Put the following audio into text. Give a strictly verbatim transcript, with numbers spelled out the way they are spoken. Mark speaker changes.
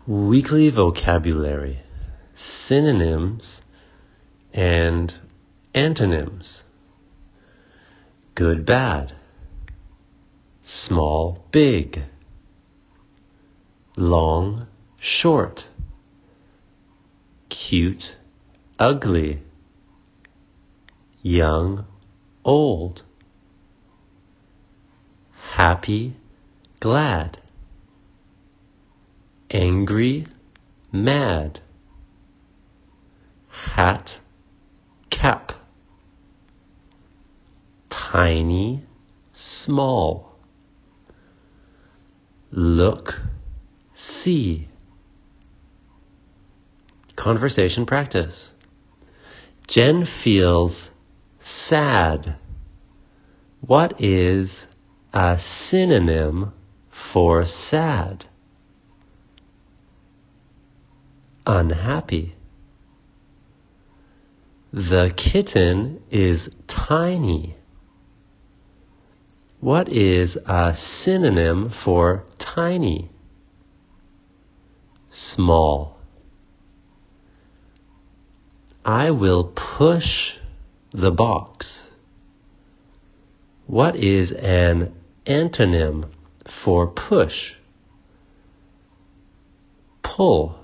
Speaker 1: Weekly vocabulary, synonyms and antonyms. Good, bad. Small, big. Long, short. Cute, ugly. Young, old. Happy, glad. Angry, mad. Hat, cap. Tiny, small. Look, see. Conversation practice. Jen feels sad. What is a synonym for sad? Unhappy. The kitten is tiny. What is a synonym for tiny? Small. I will push the box. What is an antonym for push? Pull.